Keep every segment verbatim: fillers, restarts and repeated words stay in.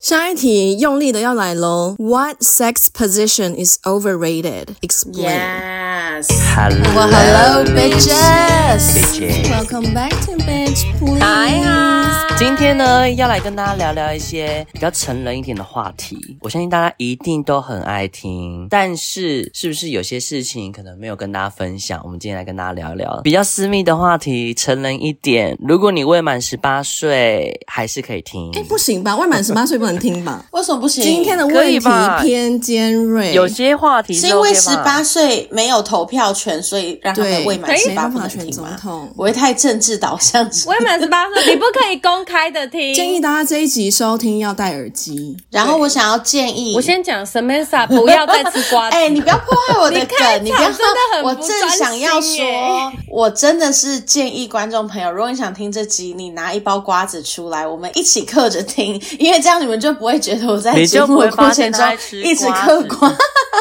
下一題用力的要來咯 What sex position is overrated? Explain. Yes. Hello, well, hello, bitches. bitches. Welcome back to bitch, please. Hi, hi. 今天呢，要来跟大家聊聊一些比較成人一點的話題。我相信大家一定都很愛聽，但是是不是有些事情可能沒有跟大家分享？我們今天來跟大家聊聊比較私密的話題，成人一點。如果你未滿十八歲，還是可以聽。 哎，不行吧？未滿十八歲不能聽吧？ 為什麼不行？ 今天的問題偏尖銳， 有些話題是、OK、 是因為十八歲沒有投票權，所以讓他們未滿十八不能聽嗎？我會太政治導向。 未滿十八歲，你不可以公開的聽。 建議大家這一集收聽要戴耳機。 然後我想要建議， 我先講 Samantha 不要再吃瓜子。 哎、欸，你不要破壞我的梗，你不要真的很我正想要說，我真的是建議觀眾朋友，如果你想聽這集，你拿一包瓜子出來，我們一起嗑着聽，因為這樣你們就不會覺得我在節目的過程中一直嗑瓜。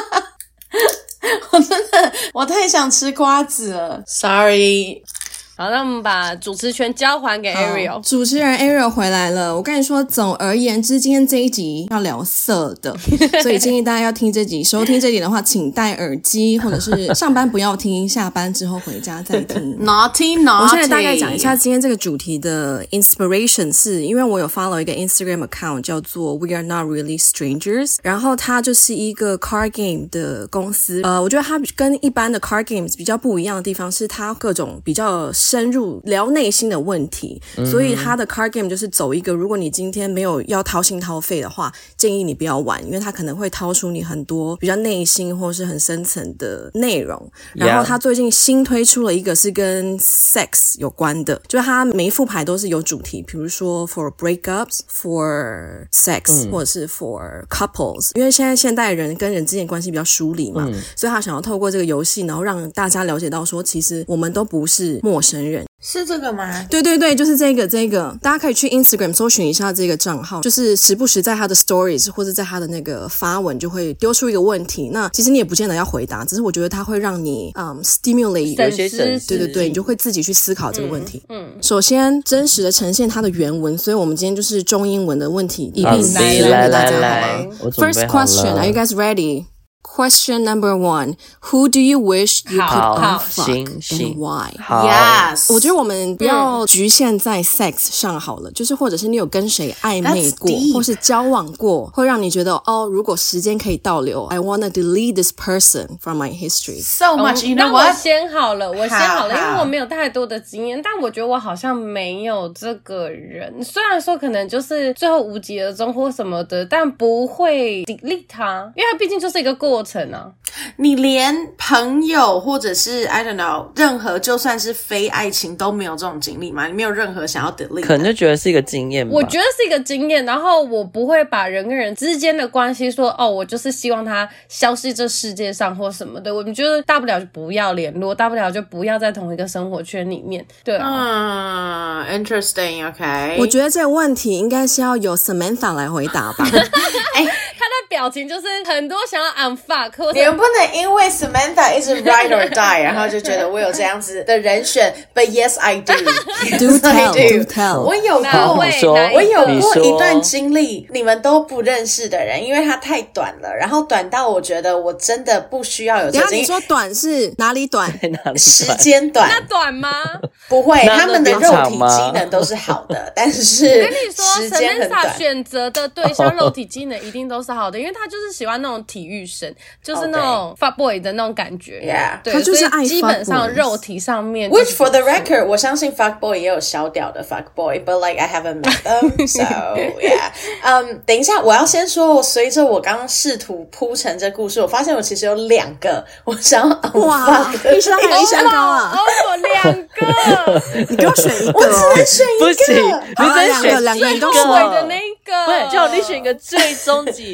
我真的，我太想吃瓜子了 ，Sorry。 好，那我們把主持權交還給 Ariel。 主持人 Ariel 回來了。我跟你說，總而言之，今天這一集要聊色的，所以建議大家要聽這集。收聽這集的話，請戴耳機，或者是上班不要聽，下班之後回家再聽。 Naughty naughty。 我現在大概講一下今天這個主題的 inspiration， 是因為我有 follow 一個 Instagram account 叫做 We Are Not Really Strangers， 然後它就是一個 card game 的公司。呃，我覺得它跟一般的 card games 比較不一樣的地方是，它各種比較深入聊內心的問題，所以他的 card game 就是走一個，如果你今天沒有要掏心掏肺的話，建議你不要玩，因為他可能會掏出你很多比較內心或是很深層的內容。然後他最近新推出了一個是跟 sex 有關的，就是他每一副牌都是有主題，比如說 for breakups, for sex、嗯、或者是 for couples， 因為現在現代人跟人之間關係比較疏離嘛、嗯，所以他想要透過這個遊戲，然後讓大家了解到說，其實我們都不是陌生人。 是這個嗎？ 對對對，就是這個這個，大家可以去 Instagram 搜尋一下這個賬號，就是時不時在他的 stories 或者在他的那個發文就會丟出一個問題，那其實你也不見得要回答，只是我覺得它會讓你嗯、um, stimulate 有些神對對對，你就會自己去思考這個問題。 嗯，嗯首先真實的呈現它的原文，所以我們今天就是中英文的問題一併來來給大家， 來好嗎 ？First question, are you guys ready? Question number one, who do you wish you could unfuck and why? Yes. 我覺得我們不要局限在 sex 上好了，就是或者是你有跟誰曖昧過，或是交往過，會讓你覺得哦，如果時間可以倒流 I wanna delete this person from my history. So much, you know what? 那我先好了，我先好了，因為我沒有太多的經驗，但我覺得我好像沒有這個人。雖然說可能就是最後無疾而終或什麼的，但不會 delete 他，因為他畢竟就是一個過程啊。 你連朋友或者是 I don't know 任何就算是非愛情都沒有這種經歷嗎？你沒有任何想要 delete？ 可能就覺得是一個經驗吧。 我覺得是一個經驗，然後我不會把人跟人之間的關係說哦，我就是希望他消失這世界上或什麼的。我們覺得大不了就不要聯絡，大不了就不要在同一個生活圈裡面。對啊， 嗯 ，interesting，OK。 我覺得這個問題應該是要由 Samantha 來回答吧。 哎，他的表情就是很多想要 unfuck， 或者你們不能因為 Samantha 一直 ride or die， 然後就覺得我有這樣子的人選。But yes, I do. Do tell, do tell. 我有過，我有過一段經歷，你們都不認識的人，因為它太短了，然後短到我覺得我真的不需要有這個。 等一下你說短是哪裡短？ 哪裡短？ 時間短。 那短嗎？ 不會，他們的肉體機能都是好的，但是時間很短。 Samantha 選擇的對象肉體機能一定都是好的，因為他就是喜歡那種體育生，就是那種 fuck boy 的那種感覺。 Yeah， 對， 他就是愛 fuck boy。 基本上肉體上面。 Which for the record， 我相信 fuck boy 也有小屌的 fuck boy，but like I haven't met them，so yeah。嗯，等一下，我要先說，隨着我剛剛試圖鋪陳這故事，我發現我其實有兩個我想要 unfuck。 哇，一山還有一山高啊！ 哦，我兩個， 你給我選一個， 我只能選一個， 不行，你只能選兩個，兩個你都選的那個。 不是，就你選一個最終極一個。你看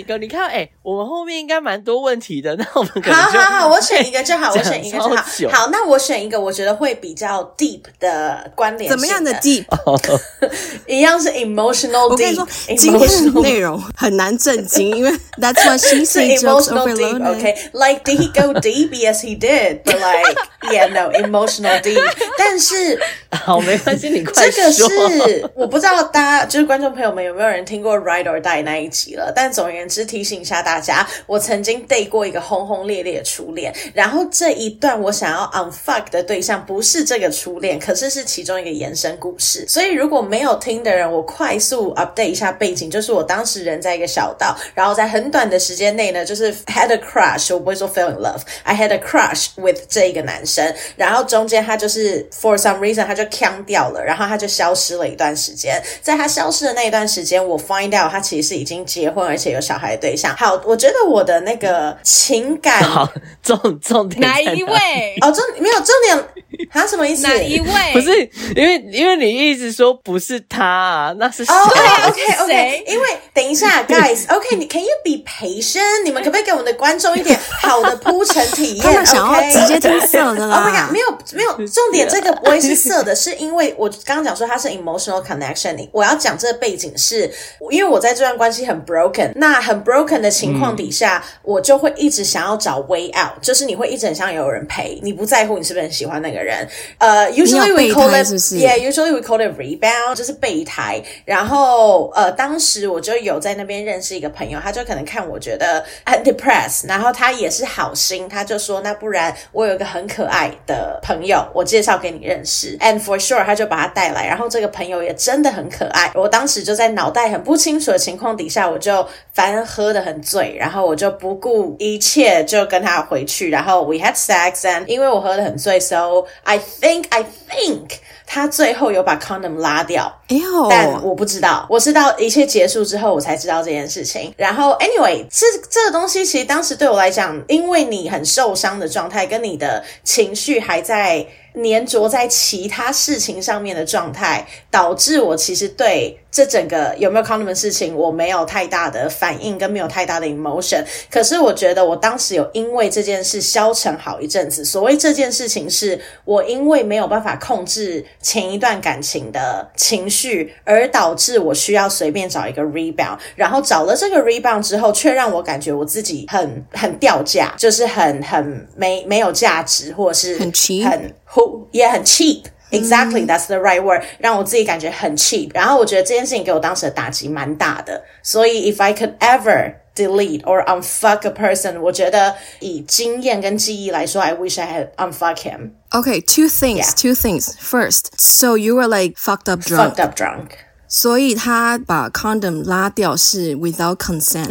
啊，哎、欸，我們後面應該蠻多問題的，那我們可能好好好，我選一個就好，我選一個就好。好，那我選一個，我覺得會比較 deep 的關聯性的。 怎麼樣的 deep？ 一樣是 emotional deep。我跟你說， 今天的內容很難震驚，因為 that's what she said jokes overloaded. Okay, like did he go deep? Yes, he did. But like, yeah, no, emotional deep. 但是好，沒關係，你快說。 這個是我不知道大家就是觀眾朋友們有沒有人聽過 Ride or Die 那一集了，但總而言之提醒一下大家，我曾經 date 過一個轟轟烈烈的初戀，然後這一段我想要 unfuck 的對象不是這個初戀，可是是其中一個延伸故事。所以如果沒有聽的人，我快速 update 一下背景，就是我當時人在一個小島，然後在很短的時間內呢，就是 had a crush， 我不會說 fell in love， I had a crush with 這一個男生，然後中間他就是 for some reason 他就鏘掉了，然後他就消失了一段時間，在他消失的那一段時間，我 find out 他其實是已經結婚而且有小孩的對象。好，我覺得我的那個情感， 好，重重點哪一位？ 哦，重沒有重點，他什麼意思？ 哪一位？ 不是，因為因為你一直說不是他啊，那是誰？ 哦、oh, ，OK OK OK， 因為等一下 ，guys，OK， 你 can you be patient？ 你們可不可以給我們的觀眾一點好的鋪陳體驗？ 他們想要直接聽色的啦。 Oh my god， 沒有沒有，重點這個不會是色的，是因為我剛剛講說它是 emotional connection。我要講這個背景是，因為我在這段關係很 broken， 那很 broken 的情況底下，嗯、我就會一直想要找 way out， 就是你會一直很想有人陪，你不在乎你是不是很喜歡那個人。呃、uh, ，usually we call it， yeah， usually we call it rebound， 就是備胎。然後呃，當時我就有在那邊認識一個朋友，他就可能看我覺得很 depressed， 然後他也是好心，他就說那不然我有一個很可愛的朋友，我介紹給你認識 ，and for sure 他就把他帶來，然後這個朋友也真的很可愛。我當時就在腦袋很不清楚的情況底下，我就反正喝得很醉，然後我就不顧一切就跟他回去，然後 we had sex and 因為我喝得很醉 so I think I think 他最後有把 condom 拉掉， 哎呦， 但我不知道，我是到一切結束之後我才知道這件事情。然後 anyway 这這個東西其實當時對我來講，因為你很受傷的狀態跟你的情緒還在黏着在其他事情上面的狀態，導致我其實對這整個有沒有 condom 的事情我沒有太大的反應跟沒有太大的 emotion。可是我覺得我當時有因為這件事消沉好一陣子。所謂這件事情是我因為沒有辦法控制前一段感情的情緒，而導致我需要隨便找一個 rebound， 然後找了這個 rebound 之後，卻讓我感覺我自己很很掉價，就是很很沒沒有價值，或者是很 cheap， 很也很 cheap。Exactly, that's the right word. 讓我自己感覺很 cheap。然後我覺得這件事情給我當時的打擊蠻大的。所以 if I could ever delete or unfuck a person, 我覺得以經驗跟記憶來說 I wish I had unfuck him. Okay, two things, yeah. two things. First, so you were like fucked up drunk. Fucked up drunk. 所以他把 condom 拉掉是 without consent.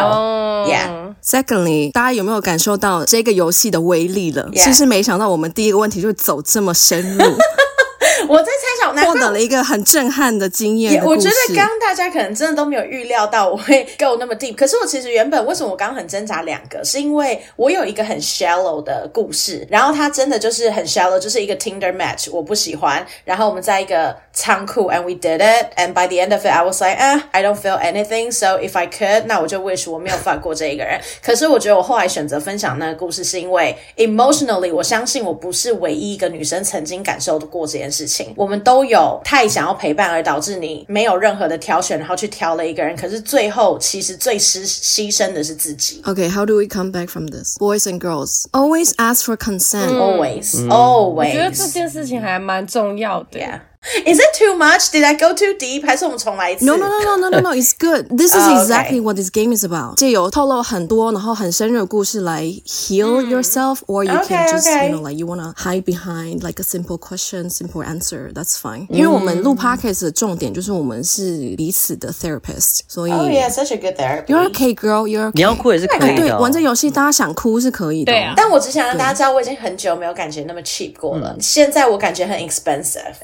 No. Yeah. Secondly, 大家有沒有感受到這個遊戲的威力了？ Yeah. 是不是沒想到我們第一個問題就走這麼深入？ 我在猜想， 獲得了一個很震撼的經驗的故事。 我覺得剛剛大家可能真的都沒有預料到我會 go 那麼 deep。可是我其實原本為什麼我剛剛很掙扎兩個，是因為我有一個很 shallow 的故事，然後它真的就是很 shallow， 就是一個 Tinder match， 我不喜歡。然後我們在一個倉庫 ，and we did it，and by the end of it，I was like， 啊 ，I don't feel anything，so if I could， 那我就 wish 我沒有 fuck 過這一個人。可是我覺得我後來選擇分享那個故事，是因為 emotionally， 我相信我不是唯一一個女生曾經感受過這件事情。我們都有太想要陪伴而導致你沒有任何的挑選，然後去挑了一個人，可是最後其實最犧犧牲的是自己。 Okay, how do we come back from this? Boys and girls, always ask for consent. Always, always. 我覺得這件事情還蠻重要的。 Yeah. Is it too much? Did I go too deep? 還是我們重來一次 ？No, no, no, no, no, no, no. It's good. This is exactly oh, okay. what this game is about. 藉由透露很多，然後很深入的故事來 heal yourself, or you okay, can just, okay. you know, like you wanna hide behind like a simple question, simple answer. That's fine. 因為我們錄 podcast 的重點就是我們是彼此的 therapist, 所以 Oh yeah, such a good therapy. You're okay, girl. You're okay. 你要哭也是可以的。 哎，對，玩這遊戲大家想哭是可以的。 對啊。 但我只想讓大家知道，我已經很久沒有感覺那麼 cheap 過了。現在我感覺很 expensive。 哎，你要不要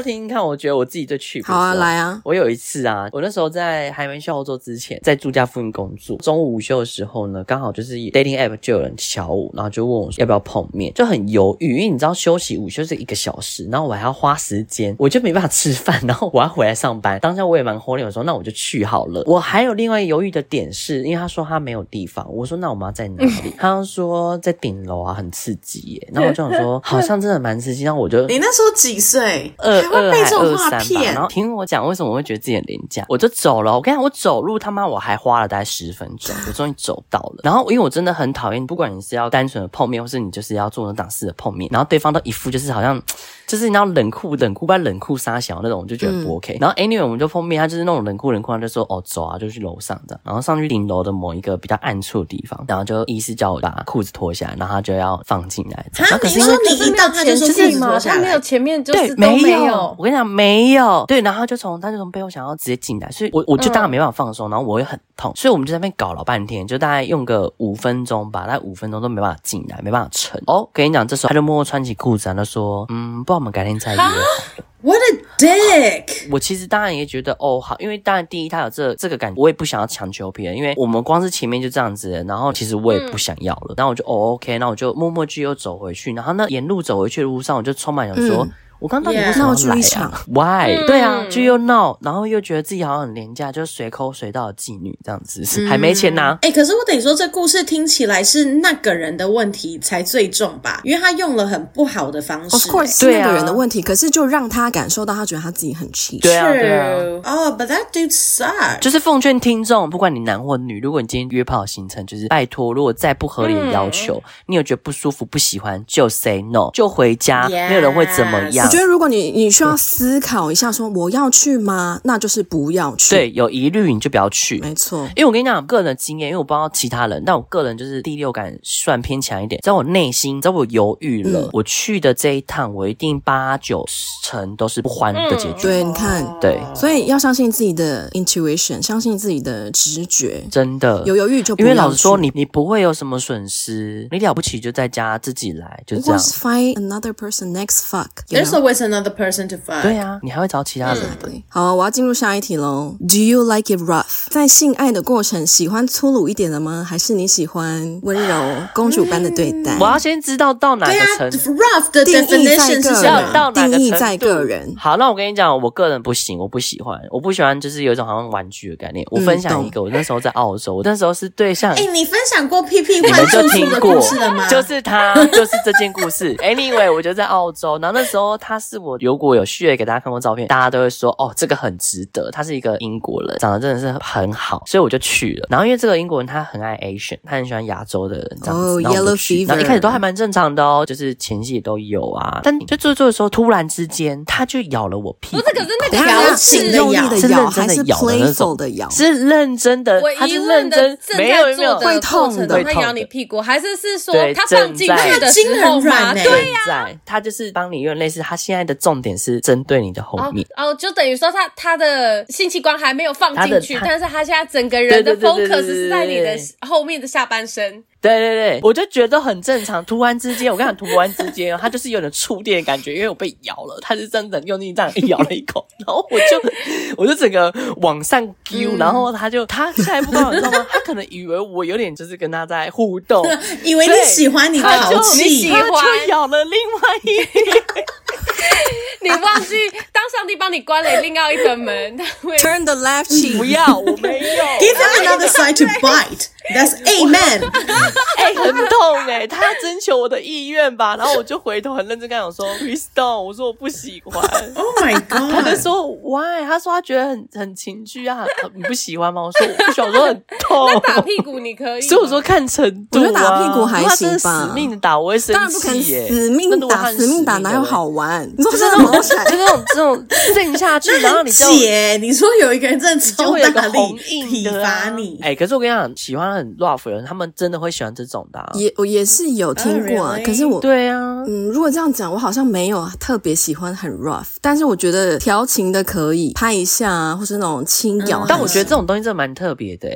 聽聽看，我覺得我自己最去。 好啊，來啊！ 我有一次啊，我那時候在還沒去澳洲之前，在住家附近工作，中午午休的時候呢，剛好就是 dating app 就有人敲我，然後就問我說要不要碰面，就很猶豫，因為你知道休息午休是一個小時，然後我還要花時間，我就沒辦法吃飯，然後我要回來上班。當下我也蠻火臉，我說那我就去好了。我還有另外猶豫的點是，因為他說他沒有地方，我說那我們要在哪裡？他說在頂樓啊，很刺激耶。然後我就想說，好像真的蠻刺激。然後我就你那時候幾歲？ 二還會被這種話二三吧。然後聽我講為什麼我會覺得自己很廉價，我就走了。我跟你講，我走路他媽我還花了大概十分鐘，我終於走到了。然後因為我真的很討厭，不管你是要單純的碰面，或是你就是要做那檔事的碰面，然後對方都一副就是好像就是你要冷酷冷酷，不然冷酷殺小那種，我就覺得不 OK。嗯、然後 anyway 我們就碰面，他就是那種冷酷冷酷，他就說哦走啊，就去樓上這樣，然後上去頂樓的某一個比較暗處的地方，然後就意思叫我把褲子脫下來，然後他就要放進來。 啊，可是因為你一到他就說褲子脫下來， 他沒有前面就是對都沒有。 沒有我跟你講沒有，對，然後他就從他就從背後想要直接進來，所以我我就當然沒辦法放鬆，嗯、然後我也很痛，所以我們就在那邊搞了半天，就大概用個五分鐘吧，大概五分鐘都沒辦法進來，沒辦法成。哦，跟你講，這時候他就默默穿起褲子，然後說，嗯，不然我們改天再約好了。 What a dick！ 我其實當然也覺得哦好，因為當然第一他有這這個感覺，我也不想要強求別人，因為我們光是前面就這樣子了，然後其實我也不想要了，嗯、然後我就哦 OK，那我就默默就又走回去，然後那沿路走回去的路上，我就充滿想說。嗯我剛到底為什麼要來啊 ？Why？、嗯、對啊，就又鬧，然後又覺得自己好像很廉價，就隨口隨到的妓女這樣子，嗯、還沒錢拿。 哎、欸，可是我得說，這故事聽起來是那個人的問題才最重吧？因為他用了很不好的方式、欸。 Of course，是那個人的問題，可是就讓他感受到他覺得他自己很 cheap。 對啊，對啊。 哦、oh, ，But that dude sucks。 就是奉勸聽眾，不管你男或女，如果你今天約炮的行程，就是拜託，如果再不合理的要求，嗯、你有覺得不舒服、不喜歡，就 say no， 就回家，yes. 沒有人會怎麼樣。 我覺得如果你你。你需要思考一下說我要去嗎？那就是不要去。 對，有疑慮你就不要去。 沒錯， 因為我跟你講個人的經驗，因為我不知道其他人，但我個人就是第六感算偏強一點。在我內心，在我猶豫了、嗯，我去的這一趟，我一定八九成都是不歡的結局。 嗯、對，你看， 對， 所以要相信自己的 intuition， 相信自己的直覺。 真的， 有猶豫就不要去。 因為老實說，你你不會有什麼損失，你了不起就在家自己來，就這樣。 Just find another person next fuck. There's always another person to fuck. 對啊，你還會找其他人的。 嗯、好，我要進入下一題嘍。Do you like it rough？ 在性愛的過程，喜歡粗魯一點的嗎？還是你喜歡溫柔公主般的對待？ 我要先知道到哪個程度。 rough 的 definition 是什麼？ 到哪個程度？ 定義在個人。 好，那我跟你講，我個人不行，我不喜歡，我不喜歡就是有一種好像玩具的概念。我分享一個，嗯、我那時候在澳洲，我那時候是對象。 哎、欸，你分享過屁屁換住宿的故事了嗎？ 就是他，就是這件故事。Anyway， 我就在澳洲，然後那時候他是我，如果有 share 給大家看過照片，大家都會說哦，這個很值得。他是一個英國人，長得真的是很好，所以我就去了。然後因為這個英國人他很愛 Asian， 他很喜歡亞洲的人這樣子。 哦、 然後我就 Yellow Fever， 然後一開始都還蠻正常的哦，就是前戲也都有啊。但就做做的時候，突然之間他就咬了我屁股。 不是，可是那個調情的咬， 是認真的咬的那種的咬， 是認真的。他是認真，沒有沒有會痛的，他咬你屁股，還是是說他放進去的時候嗎？對呀、啊， 他就是幫你，有點類似，他現在的重點是針對你的後面。 哦，哦就等於說他他的性器官還沒有放進去，但是他現在整個人的 focus 是在你的後面的下半身。 對對對，我就覺得很正常。突然之間，我跟你講，突然之間，他就是有點觸電的感覺，因為我被咬了，他是真的用力這樣咬了一口，然後我就我就整個往上丟、嗯，然後他就他下一步幹嘛你知道嗎？他可能以為我有點就是跟他在互動， 以為你喜歡你的好氣， 他就咬了另外一邊。 你忘記當上帝幫你關了另外一個門，他會 turn the left cheek。 不要，我沒有。 Give him another side to bite. That's amen. 哎、欸，很痛哎、欸，他徵求我的意願吧，然後我就回頭很認真跟他講說 ，Please don't，我說我不喜歡。 Oh my god， 他就說 Why？ 他說他覺得很很情趣啊，你不喜歡嗎？我說我不喜歡，我說很痛。 那打屁股你可以， 所以我說看程度、啊， 我覺得打屁股還行吧。 他死命的打，我會生氣耶、欸。 死命打，死命打哪有好玩？你說就是那種，就那種這種震下去，然後你就姐，你說有一個人真的超大力體罰你， 哎、欸，可是我跟你講，喜歡很 rough 的人，他們真的會喜歡這種的、啊。 也我也是有聽過、啊 oh, really? 可是我對啊， 嗯，如果這樣講，我好像沒有特別喜歡很 rough，但是我覺得調情的可以拍一下啊，或是那種輕咬、嗯。 但我覺得這種東西真的蠻特別的、欸，因為我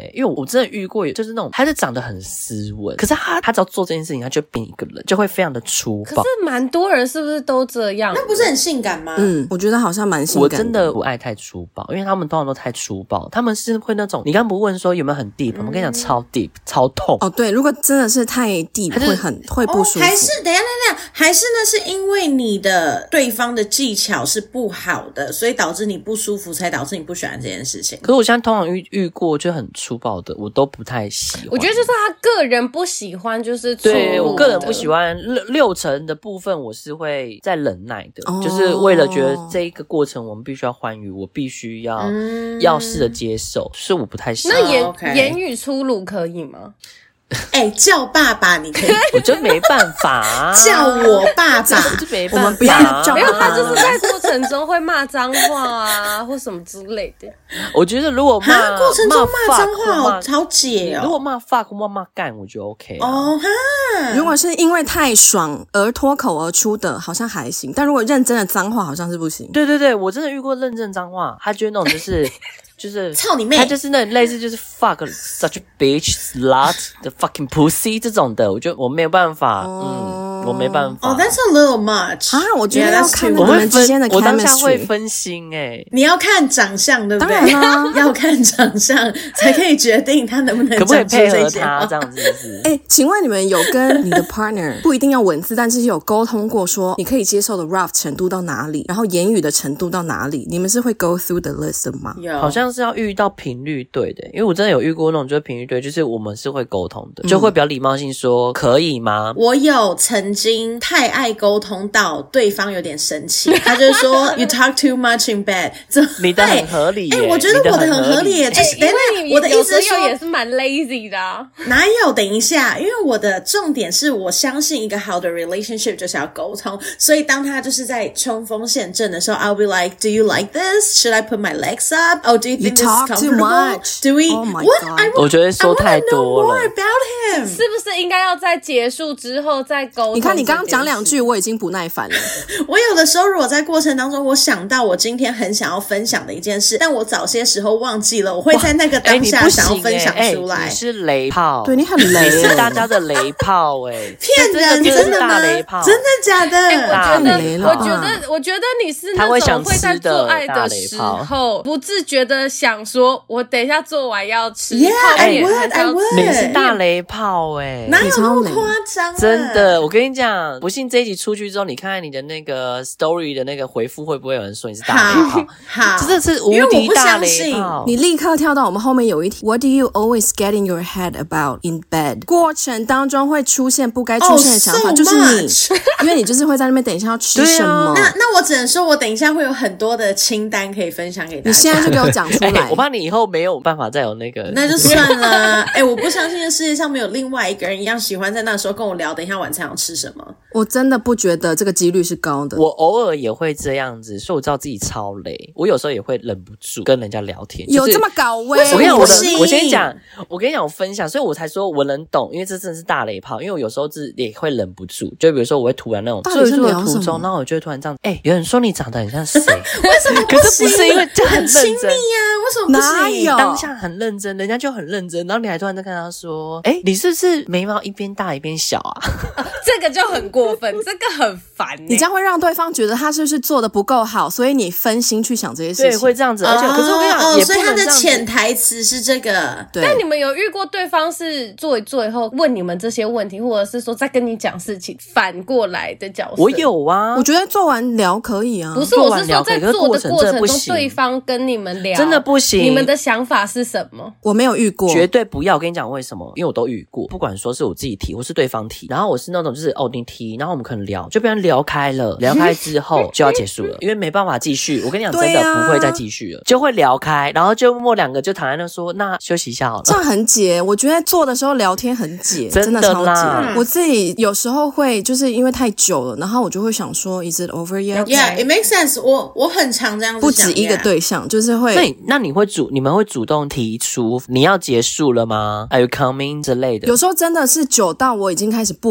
真的遇過，就是那種他是長得很斯文，可是他他只要做這件事情，他就變一個人，就會非常的粗暴。 可是蠻多人是不是都這樣？ 那不是很性感嗎？ 嗯，我覺得好像蠻性感的。 我真的不愛太粗暴，因為他們通常都太粗暴，他們是會那種你剛不問說有沒有很 deep，、嗯、我跟你講超 deep 超痛。 哦，對，如果真的是太 deep，會很會不舒服。 哦、還是等一下等一下，還是那是因為你的對方的技巧是不好的，所以導致你不舒服，才導致你不喜歡這件事情。 可是我現在通常遇遇過就很粗暴的，我都不太喜歡。 我覺得就是他個人不喜歡，就是粗魯的。 對，我個人不喜歡六六成的部分，我是會再忍耐的、哦，就是為了覺得這一個過程我們必須要歡愉，我必須要、嗯、要試着接受，是我不太喜歡。 那言、 oh, okay. 言語粗魯可以嗎？ 哎、欸，叫爸爸你可以， 我就沒辦法、啊、 叫我爸爸， 我就沒辦法、啊。 我們不要叫， 沒有，他就是在過程中會罵髒話啊，或什麼之類的。 我覺得如果罵過程中罵髒話好好解哦。 如果罵 fuck 或罵幹，我覺得 OK 啊。 哦哈， 如果是因為太爽而脫口而出的，好像還行；但如果認真的髒話，好像是不行。 對對對，我真的遇過認真髒話，他覺得那種就是就是操你妹， 他就是那種類似就是 fuck such a bitch slut the fucking pussy 這種的，我覺得我沒有辦法，哦、嗯，我沒辦法。 哦、oh, ，That's a little much 啊！我覺得要看你們之間的 chemistry， 我當下會分心哎、欸。 你要看長相，對不對？ 當然啦， 要看長相才可以決定他能不能可不可以配合這他這樣子是。 哎、欸，請問你們有跟你的 partner 不一定要文字，但是有溝通過說你可以接受的 rough 程度到哪裡，然後言語的程度到哪裡？你們是會 go through the list 的嗎？ 有， 好像是要遇到頻率對的，因為我真的有遇過那種就是頻率對，就是我們是會溝通的，就會比較禮貌性說、嗯、可以嗎？ 我有曾經太愛溝通到對方有點生氣，他就說 You talk too much in bed。 你的很合理耶， 哎、欸，我覺得我的很合理耶，就是、欸、等一下，我的意思是說也是蠻 lazy 的、啊。 哪有？等一下，因為我的重點是我相信一個好的 relationship 就是要溝通，所以當他就是在衝鋒陷陣的時候 ，I'll be like, Do you like this? Should I put my legs up? Oh, do you think you this is comfortable? Do we? Oh my what? God. I want, 我覺得說太多了。 I want to know more about him. 是不是應該要在結束之後再溝通？ 你看，你剛剛講兩句，我已經不耐煩了。 我有的時候，如果在過程當中，我想到我今天很想要分享的一件事，但我早些時候忘記了，我會在那個當下想要分享出來。 欸、你是雷炮， 對，你很雷， 你是大家的雷炮、欸，哎， 騙人，真的嗎？真的假的？ 欸、我覺得， 我覺得，我覺得你是那種會在做愛的時候不自覺的想說，我等一下做完要吃。 Yeah, 泡麵 I would, I would. 你是大雷炮哎、欸， 哪有那麼誇張？ 真的，我跟你講，不信這一集出去之後，你看看你的那個 story 的那個回復，會不會有人說你是大雷炮？ 好， 真的是無敵大雷炮。 你立刻跳到我們後面有一題 ，What do you always get in your head about in bed？ 過程當中會出現不該出現的想法， oh, so 就是你，因為你就是會在那邊等一下要吃什麼。 啊、那那我只能說，我等一下會有很多的清單可以分享給大家。 你現在就給我講出來、 欸，我怕你以後沒有辦法再有那個。 那就算了。哎、欸，我不相信這世界上沒有另外一個人一樣喜歡在那時候跟我聊，等一下晚餐要吃什麼。 我真的不覺得這個幾率是高的。 我偶爾也會這樣子，所以我知道自己超累。我有時候也會忍不住跟人家聊天， 有這麼搞味？ 我跟你講，我的，我先講，我跟你講，我分享，所以我才說我能懂，因為這真的是大雷炮。因為我有時候是也會忍不住，就比如說我會突然那種坐一坐的途中，然後我就會突然這樣，哎、欸，有人說你長得很像誰？ 為什麼不行？ 可是不是因為就很認真，很親密呀？為什麼不行？ 哪有？ 當下很認真，人家就很認真，然後你還突然在跟他說，哎、欸，你是不是眉毛一邊大一邊小啊？ 這個就很過分，這個很煩、欸。 你這樣會讓對方覺得他是不是做的不夠好，所以你分心去想這些事情。 對，會這樣子。而且， 哦、 可是我跟你講， 哦， 也不能這樣子。 所以他的潛台詞是這個。 對。 但你們有遇過對方是做一做以後問你們這些問題，或者是說在跟你講事情，反過來的角色？ 我有啊， 我覺得做完聊可以啊。 不是，我是說在做的過程中，對方跟你們聊， 真的不行。 你們的想法是什麼？ 我沒有遇過， 絕對不要。我跟你講為什麼？因為我都遇過，不管說是我自己提或是對方提，然後我是那種就是哦你提，然後我們可能聊，就被人聊開了，聊開之後就要結束了，因為沒辦法繼續。我跟你講，真的不會再繼續了，就會聊開，然後就默默兩個就躺在那說，那休息一下好了。 這樣很解，我覺得做的時候聊天很解，真的超解。我自己有時候會就是因為太久了，然後我就會想說 ，Is it over yet? Yeah, it makes sense. 我我很常這樣子想， 不止一個對象，就是會。 那你那你會主你們會主動提出你要結束了嗎？Are you coming 之類的？ 有時候真的是久到我已經開始不舒服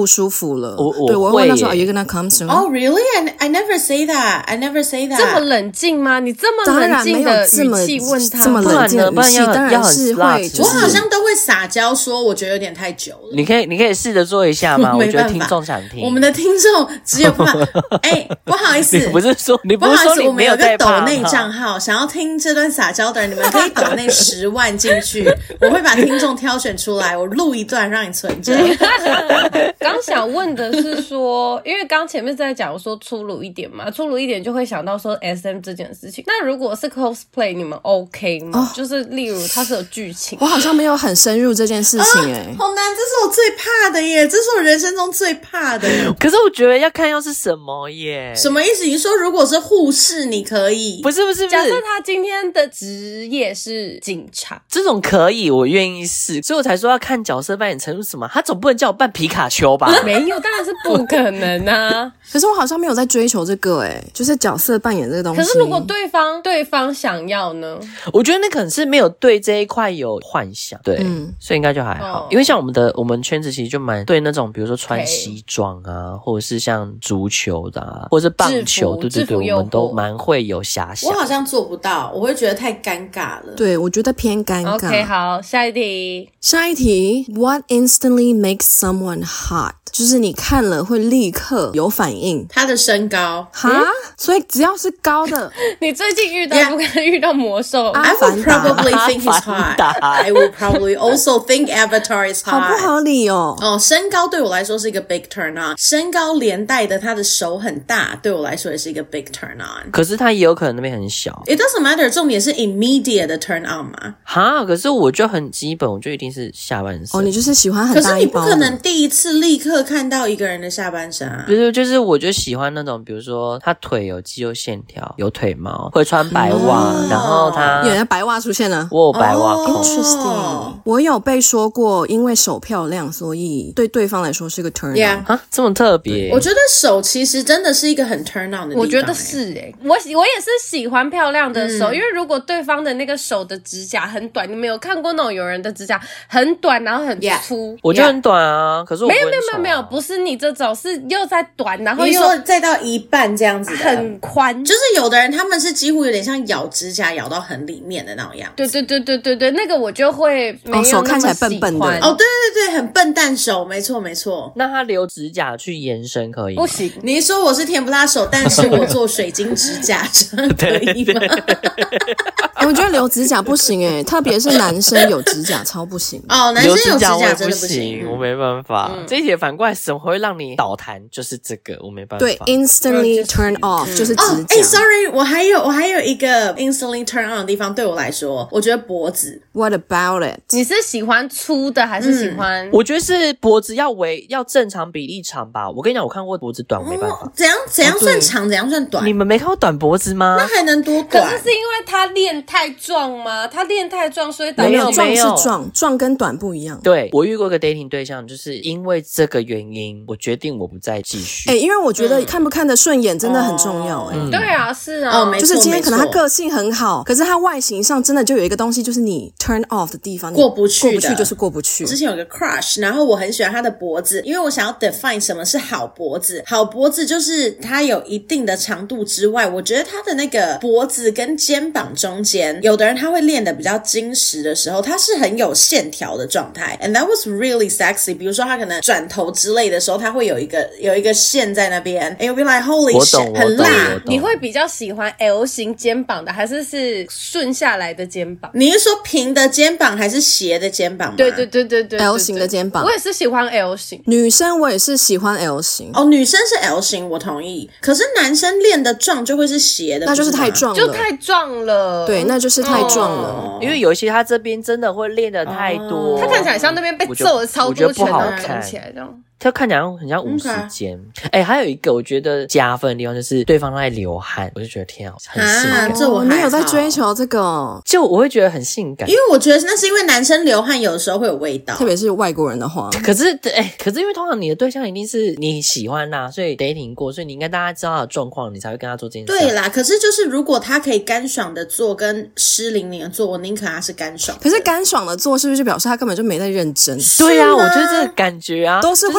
服了。 我我對我會問他說 Are you gonna come soon? Oh really? I I never say that. I never say that. 這麼冷靜嗎？你這麼冷靜的語氣問他， 這麼冷靜的語氣，當然是會、就是。 我好像都會撒嬌說，我覺得有點太久了。 你可以，你可以試着做一下嗎？我覺得聽眾想聽。 我們的聽眾只有怕。哎、欸，不好意思， 你不是說你不是說你沒有在怕嗎？ 我們有個抖內賬號，想要聽這段撒嬌的人，你們可以抖內十萬進去，我會把聽眾挑選出來，我錄一段讓你存着。 剛想問的是說，因為剛前面在講說粗魯一點嘛，粗魯一點就會想到說 S M 這件事情。那如果是 cosplay， 你們 OK 嗎？哦、就是例如它是有劇情， 我好像沒有很深入這件事情哎、欸啊， 好難，這是我最怕的耶，這是我人生中最怕的。 可是我覺得要看要是什麼耶， 什麼意思？你說如果是護士，你可以？ 不是不是不是， 假設他今天的職業是警察， 這種可以，我願意試，所以我才說要看角色扮演程度什麼。他總不能叫我扮皮卡丘吧？ 沒有，當然是不可能啊。 可是我好像沒有在追求這個哎、欸，就是角色扮演這個東西。 可是如果對方對方想要呢？ 我覺得那可能是沒有對這一塊有幻想，對，嗯、所以應該就還好。哦、因為像我們的我們圈子其實就蠻對那種，比如說穿西裝啊，okay. 或者是像足球的啊，或者是棒球，對對對，我們都蠻會有遐想。 我好像做不到，我會覺得太尷尬了。 對，我覺得偏尷尬。 OK， 好，下一題。 下一題 ，What instantly makes someone hot？就是你看了會立刻有反應。 他的身高哈、嗯，所以只要是高的， 你最近遇到不可能遇到魔獸。 I would probably think he's hot. I would probably also think Avatar is hot. 好不合理哦。 哦，身高對我來說是一個 big turn on。身高連帶的他的手很大，對我來說也是一個 big turn on。 可是他也有可能那邊很小。 It doesn't matter。重點是 immediate 的 turn on 嘛。 哈，可是我就很基本，我就一定是下半身。 哦，你就是喜歡很大一包的。 可是你不可能第一次立刻看到一個人的下半身啊。 不是，就是我就喜歡那種，比如說他腿有肌肉線條，有腿毛，會穿白襪、哦，然後他有人白襪出現了。 我有白襪控。 Interesting。我有被說過，因為手漂亮，所以對對方來說是個 turn on。 Yeah. 啊，這麼特別？ 我覺得手其實真的是一個很 turn on 的地方。 我覺得是誒、欸，我我也是喜歡漂亮的手、嗯，因為如果對方的那個手的指甲很短，你們有看過那種有人的指甲很短，然後很粗？ Yeah. 我就很短啊，可是我不、啊、 沒有沒有沒有沒有，不是你這種，是又在短，然後又你說再到一半這樣子的， 很寬，就是有的人他們是幾乎有點像咬指甲咬到很裡面的那種樣子。 對對對對對對，那個我就會沒有那麼喜歡。 哦，手看起來笨笨的。 哦，對對對，很笨蛋手，沒錯沒錯。 那他留指甲去延伸可以嗎？ 不行。 你說我是甜不辣手，但是我做水晶指甲，這樣可以嗎？ 欸、我覺得留指甲不行誒，特別是男生有指甲超不行哦，男生有指甲真的不行，我沒辦法。嗯、這一題反過來什麼會讓你倒彈？就是這個，我沒辦法。 對 ，instantly turn off、嗯、就是指甲。哦，哎、欸、 ，sorry， 我還有我還有一個 instantly turn on 的地方，對我來說，我覺得脖子。 What about it？ 你是喜歡粗的還是喜歡、嗯？ 我覺得是脖子要圍要正常比例長吧。我跟你講，我看過脖子短，我沒辦法。 哦、怎樣怎樣算長、哦？怎樣算短？ 你們沒看過短脖子嗎？ 那還能多短？ 可是是因為他練太壯嗎？他練太壯，所以導致沒有壯是壯，壯跟短不一樣。 對，我遇過一個 dating 對象，就是因為這個原因，我決定我不再繼續。 哎、欸，因為我覺得看不看得順眼真的很重要、欸。哎、 嗯，對啊，是啊， 哦，沒錯， 就是今天可能他個性很好，可是他外形上真的就有一個東西，就是你 turn off 的地方， 過不去的， 過不去就是過不去。 之前有個 crush， 然後我很喜歡他的脖子，因為我想要 define 什麼是好脖子。好脖子就是它有一定的長度之外，我覺得他的那個脖子跟肩膀中間，有的人他會練得比較精實的時候，他是很有線條的狀態 ，and that was really sexy。比如說他可能轉頭之類的時候，他會有一個有一個線在那邊，and you'll be like holy shit， 很辣。 你會比較喜歡 L 型肩膀的，還是是順下來的肩膀？ 你是說平的肩膀還是斜的肩膀嗎？ 對對對對對 ，L 型的肩膀。 我也是喜歡 L 型， 女生我也是喜歡 L 型。 哦，女生是 L 型，我同意。可是男生練的壯就會是斜的， 那就是太壯了， 就太壯了。 對，那就是太壯了。 哦、因為有一些他這邊真的會練的太多， 哦、他看起來像那邊被揍了超多拳，然後看起來這樣。 他看起來很像無時間。哎、okay. 欸，還有一個我覺得加分的地方就是對方在流汗，我就覺得天啊，很性感。 啊、這我沒有在追求這個， 就我會覺得很性感， 因為我覺得那是因為男生流汗有的時候會有味道， 特別是外國人的話。 可是，哎、欸，可是因為通常你的對象一定是你喜歡啦，所以 dating 過，所以你應該大家知道他的狀況，你才會跟他做這件事。 對啦，可是就是如果他可以乾爽的做，跟濕淋淋的做，我寧可他是乾爽的。 可是乾爽的做是不是就表示他根本就沒在認真？ 對啊，我覺得這個感覺啊， 都是會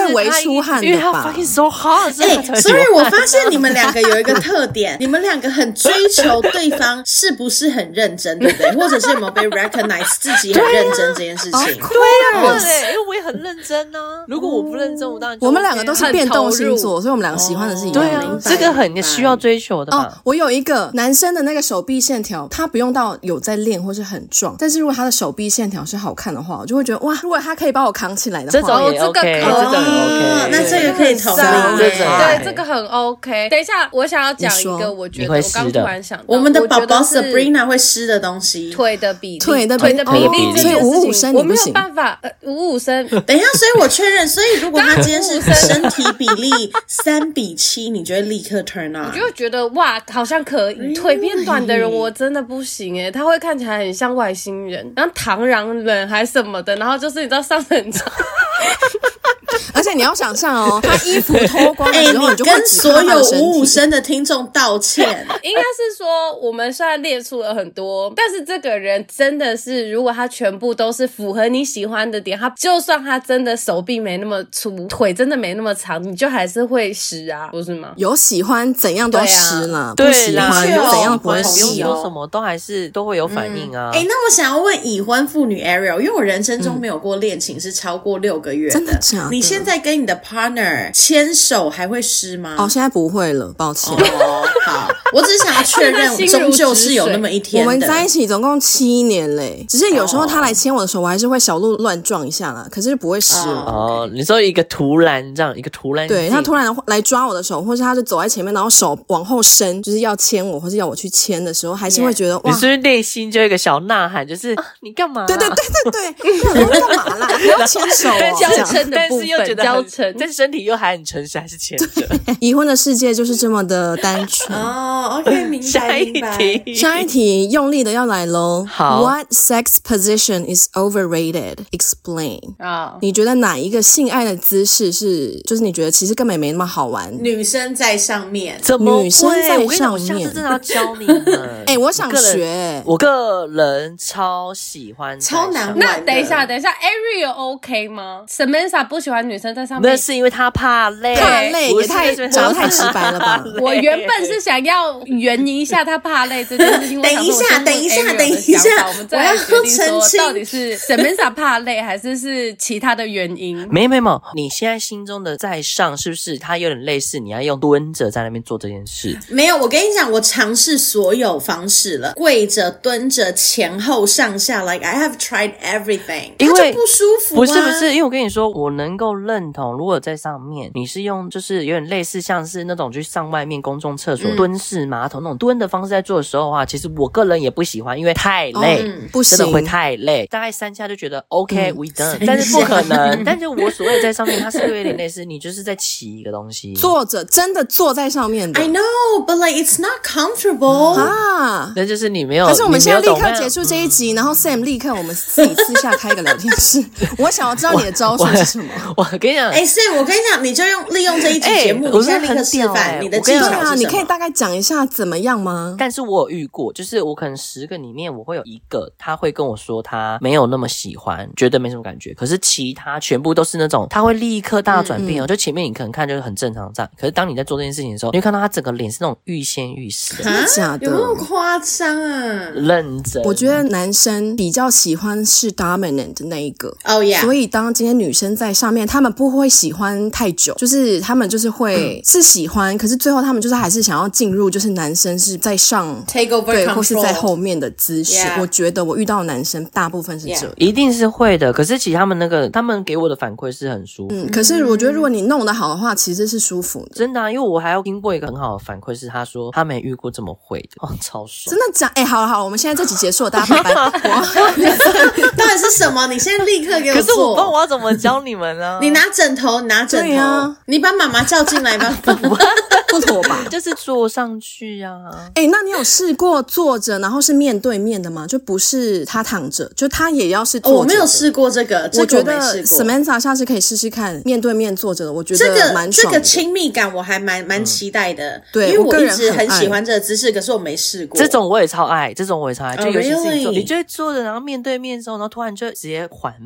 微出汗的吧？ 因為他 fucking so hard， 所以他才會所以我發現你們兩個有一個特點，你們兩個很追求對方是不是很認真，對不對？或者是有沒有被 recognize 自己很認真這件事情？對呀，對，因為我也很認真啊。如果我不認真，我當然就我們兩個都是變動星座，所以我們兩個喜歡的是一樣的。 對啊，這個很需要追求的嘛。 哦，我有一個男生的那個手臂線條，他不用到有在練或是很壯，但是如果他的手臂線條是好看的話，我就會覺得哇，如果他可以把我扛起來的話， 這種也 OK，這種 OK， 那這個可以同理。 對，這個很 OK。等一下，我想要講一個，我覺得我剛突然想到， 我們的寶寶 Sabrina 會濕的東西， 腿的比例， 腿的腿的比例， 所以五五身我沒有辦法，呃，五五身。 等一下，所以我確認，所以如果他今天是身體比例三比七，你就會立刻 turn on， 我就會覺得哇，好像可以。腿變短的人我真的不行誒，他會看起來很像外星人，然後螳螂人還什麼的，然後就是你知道上很長。 而且你要想象哦，他衣服脫光的时候， 欸、你就跟所有五五身的聽眾道歉。 應該是說，我們雖然列出了很多，但是這個人真的是，如果他全部都是符合你喜歡的點，他就算他真的手臂沒那麼粗，腿真的沒那麼長，你就還是會濕啊，不是嗎？ 有喜歡怎樣都濕了， 對啊， 不喜歡怎樣不會濕， 不用說什麼都還是都會有反應啊。 哎、嗯欸，那我想要問已婚婦女 Ariel， 因為我人生中沒有過戀情是超過六個月的， 真的假的？ 你現在跟你的 partner 牽手還會濕嗎？ 哦，現在不會了，抱歉。 哦，好，我只是想要確認，終究是有那麼一天的。 我們在一起總共七年嘞，只是有時候他來牽我的手，我還是會小鹿亂撞一下啦，可是不會濕。 哦， oh, 你說一個突然這樣，一個突然， 對，他突然來抓我的手，或是他就走在前面，然後手往後伸，就是要牽我，或是要我去牽的時候，還是會覺得 yeah. 哇， 你是不是內心就有一個小吶喊，就是、啊、你幹嘛、啊？ 對對對對對，我幹嘛啦？還要牽手、哦？ 交嗔的部分，交嗔， 但是身體又還很誠實，還是牽着。 已婚的世界就是這麼的單純哦。OK， 明白。 下一題， 下一題，用力的要來嘍。 好 ，What sex position is overrated? Explain。啊， oh. 你覺得哪一個性愛的姿勢是，就是你覺得其實根本沒那麼好玩？ 女生在上面， 怎麼會？ 女生在上面？ 我跟你講，我下次真的要教你們。 哎、欸，我想學。 我個人超喜歡， 超難玩。 那等一下，等一下 ，Ariel OK 嗎 ？Samantha 不喜歡女生在上面， 那是因為她怕累， 怕累也太講得太直白了吧？ 我原本是想要圓一下她怕累這件事情。 等一下，等一下，等一下， 我們再來決定說到底是 Samantha 怕累，還是是其他的原因？ 沒沒沒，你現在心中的在上是不是它有點類似？你要用蹲着在那邊做這件事？ 沒有，我跟你講，我嘗試所有方式了，跪着、蹲着、前後、上下 ，like I have tried everything， 因為它就不舒服、啊。 不是不是，因為我跟你說，我能夠認同，如果在上面你是用就是有點類似像是那種去上外面公眾廁所、嗯、蹲式馬桶那種蹲的方式在做的時候的話，其實我個人也不喜歡，因為太累，哦、 不行， 真的會太累。大概三下就覺得 OK，we、okay, 嗯、done，但是不可能。但是我所謂在上面，它是有點類似，你就是在騎一個東西， 坐着真的坐在上面的。 I know, but like it's not comfortable、嗯、 啊。 那就是你沒有。 可是我們現在立刻結束這一集，嗯、然後 Sam 立刻我們自己私下開個聊天室。我想要知道你的招數是什麼。 我, 我, 我跟你講， 哎、欸、，Sam， 我跟你講，你就用利用這一集節目，欸、你現在立刻示範、欸、你的技巧是什麼？ 你可以大概講一下怎麼樣嗎？ 但是我有遇過，就是我可能十個裡面我會有一個，他會跟我說他沒有那麼喜歡，覺得沒什麼感覺。可是其他全部都是那種他會立刻大轉變哦。嗯嗯就前面你可能看就是很正常這樣，可是當你在做這件事情的時候，你會看到他整個臉是那種欲仙欲死的。 真的假的？ 有那麼誇張啊？ 認真。 我覺得男生比較喜歡是 dominant 的那一個。 哦、oh, yeah。所以當今天女生在上面，他們不會喜歡太久，就是他們就是會、嗯、是喜歡，可是最後他們就是還是想要進入，就是男生是在上 take over 對 control， 或是在後面的姿勢。 Yeah. 我覺得我遇到的男生大部分是這樣， 一定是會的。可是其實他們那個，他們給我的反饋是很舒服。 嗯，可是我覺得如果你弄得好的話，其實是舒服的。 真的啊，因為我還要聽過一個很好的反饋，是他說他沒遇過這麼會的，哦，超爽。 真的假？哎、欸，好了好了，我們現在這集結束了，大家拜拜。 到底是什麼？你現在立刻給我做。 可是我不知道我要怎麼教你們呢？ 你拿枕頭，你拿枕頭，啊、你把媽媽叫進來吧。 不妥吧？ 就是坐上去啊。 哎、欸，那你有試過坐着，然後是面對面的嗎？就不是他躺着，就他也要是坐着、哦。 我沒有試過這個，這個、我覺得 Samantha 下次可以試試看面對面坐着的，我覺得蠻爽的。 這個這個親密感我還蠻蠻期待的。嗯、 對， 因為我一直很很喜歡這個姿勢，可是我沒試過。 這種我也超愛，這種我也超愛，就尤其是你坐， oh, really? 你就會坐着，然後面對面的時候，然後突然就直接環抱，然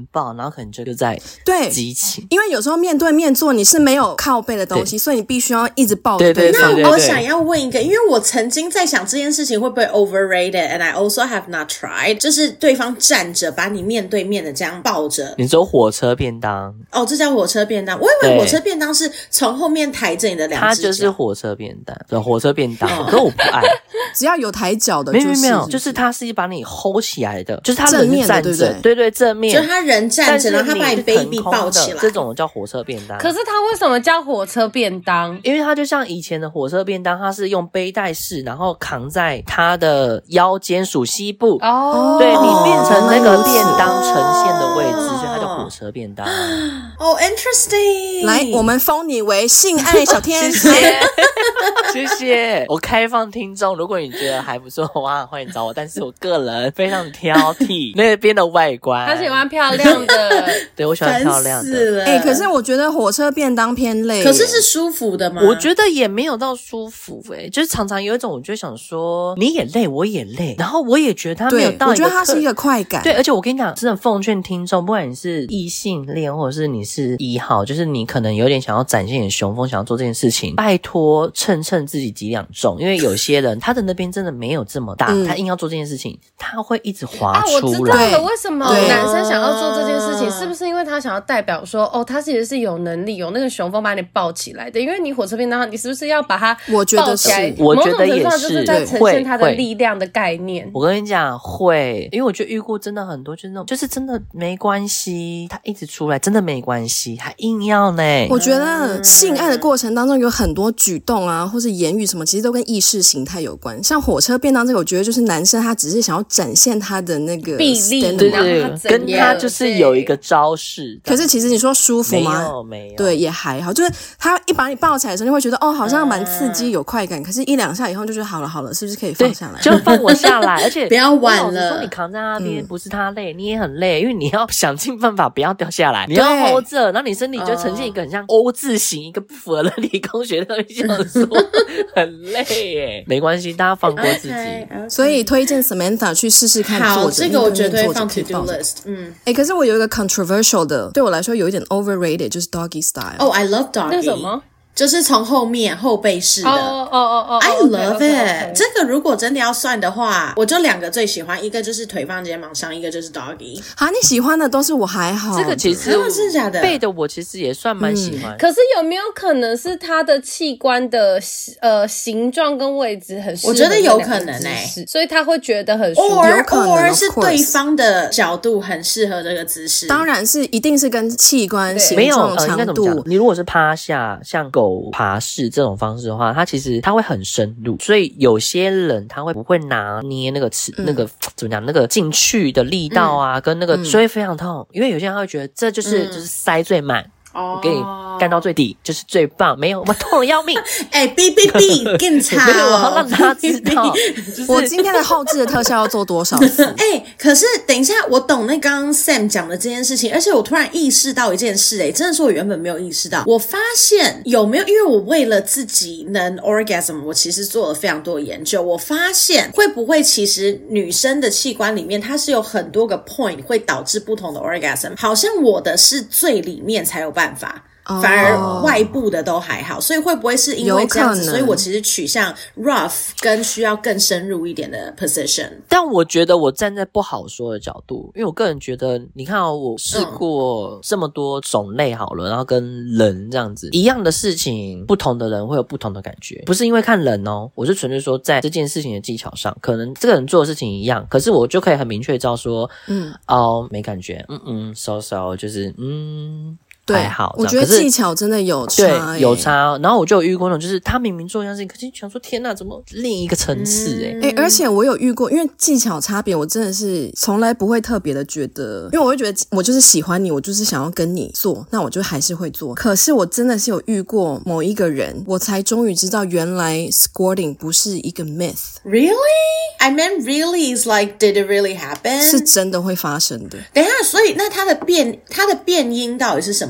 然後可能就就在對激情， 因為有時候面对面坐你是沒有靠背的東西，所以你必須要一直抱着對方。 那我想要問一個，因為我曾經在想這件事情會不會 overrated and I also have not tried， 就是對方站着把你面對面的這樣抱着。 你說火車便當哦，這叫火車便當，我以為火車便當是從後面抬着你的兩隻腳。它就是火車便當，對，火車便當，可是我不愛。 只要有抬腳的、就是， 沒有沒有，就是他是把你 hold 起來的，就是他人是站着，對對，對對，正面， 就他人站着，然後他把你 baby 抱起來， 這種叫火車便當。 可是他為什麼叫火車便當？ 因為他就像以前的火車便當，他是用背帶式，然後扛在他的腰間屬膝部，哦，對，你變成那個便當呈現的位置，哦、所以它叫火車便當。 哦、oh, ，interesting。 來，我們封你為性愛小天使。 謝謝，我開放聽眾，如果你覺得還不錯的話，歡迎找我。但是我個人非常挑剔那邊的外觀， 他喜歡漂亮的， 對，我喜歡漂亮的。 哎、欸，可是我覺得火車便當偏累， 可是是舒服的嗎？ 我覺得也沒有到舒服、欸，哎，就是常常有一種，我就想說，你也累，我也累，然後我也覺得他沒有到一個，我覺得他是一個快感。 對，而且我跟你講，真的奉勸聽眾，不管你是異性戀，或者是你是一號，就是你可能有點想要展現你的雄風，想要做這件事情，拜託稱稱自己幾兩重，因為有些人他的那邊真的沒有這麼大、嗯，他硬要做這件事情，他會一直滑出來。啊， 我知道了，為什麼男生想要做這件事情，是不是因為他想要代表說，哦，他其實是有能力，有那個雄風把你抱起來的？因為你火車便當，你是不是要把他抱起來？ 我覺得是， 我覺得也是， 就是在呈現他的力量的概念。 我跟你講，會，因為我覺得遇過真的很多，就是那種，就是真的沒關係，他一直出來，真的沒關係，還硬要呢。 我覺得性愛的過程當中有很多舉動啊，或是言語什麼，其實都跟意識形態有關。像火車便當這個，我覺得就是男生他只是想要展現他的那個臂力， 對對，跟他就是有一個招式。 可是其實你說舒服嗎？ 沒有沒有，對， 也還好。就是他一把你抱起來的時候，你會覺得哦，好像蠻刺激，有快感。可是，一兩下以後就覺得好了好了，是不是可以放下來？ 就放我下來，而且不要玩了。 說你扛在那邊、嗯，不是他累，你也很累，因為你要想盡辦法不要掉下來，你要 hold 着，然後你身體就呈現一個很像 O 字形，一個不符合理工學的想說很累耶。沒關係，大家放過自己。Okay, okay. 所以推薦 Samantha 去試試看做。好， 這個我絕對放 to do list。嗯，哎、 欸，可是我有一個 controversial 的，對我來說有一點 overrated，就是 doggy style。 哦、oh, I love doggy。那什麼？就是從後面後背式的。 哦哦哦哦 I love it。 Okay, okay, okay. 這個如果真的要算的話，我就兩個最喜歡，一個就是腿放肩膀上，一個就是 doggy。 好，你喜歡的都是我還好。 這個其實真的假的？ 背的我其實也算蠻喜歡、嗯。 可是有沒有可能是他的器官的呃形狀跟位置很適合？ 我覺得有可能誒、欸， 所以他會覺得很舒服。 or or 是對方的角度很適合這個姿勢。 當然是一定是跟器官形狀、長度。呃、應該怎麼講？ 你如果是趴下，像狗爬式這種方式的話，它其實它會很深入，所以有些人他會不會拿捏那個尺、嗯、那個怎麼講，那個進去的力道啊，嗯、跟那個所以非常痛、嗯，因為有些人他會覺得這就是、嗯、就是塞最滿。我給你幹到最底，就是最棒，沒有我痛得要命。 哎、欸，嗶嗶嗶，更慘！ 我要讓他知道，就是、 我今天的後製的特效要做多少次？ 哎、欸，可是等一下，我懂那剛剛 Sam 講的這件事情，而且我突然意識到一件事、欸，哎，真的是我原本沒有意識到。我發現有沒有，因為我為了自己能 orgasm，我其實做了非常多的研究。我發現會不會其實女生的器官裡面，它是有很多個 point 會導致不同的 orgasm，好像我的是最裡面才有辦法。辦法，反而外部的都還好，所以會不會是因為這樣子，所以我其實取向 rough 跟需要更深入一點的 position。 但我覺得我站在不好說的角度，因為我個人覺得，你看哦，我試過這麼多種類好了，然後跟人這樣子一樣的事情，不同的人會有不同的感覺，不是因為看人哦，我是純粹說在這件事情的技巧上，可能這個人做的事情一樣，可是我就可以很明確知道說，嗯，哦，沒感覺，嗯嗯，so so，就是嗯。 對， 還好， 我覺得技巧真的有差、欸， 對，有差。然後我就有遇過那種，就是他明明做一樣事情，可是想說天哪，怎麼另一個層次、欸？誒、嗯欸、而且我有遇過，因為技巧差別，我真的是從來不會特別的覺得，因為我會覺得我就是喜歡你，我就是想要跟你做，那我就還是會做。可是我真的是有遇過某一個人，我才終於知道原來 squirting 不是一個 myth。Really? I mean, really is like, did it really happen? 是真的會發生的。 等一下，所以那它的變，它的變因到底是什麼？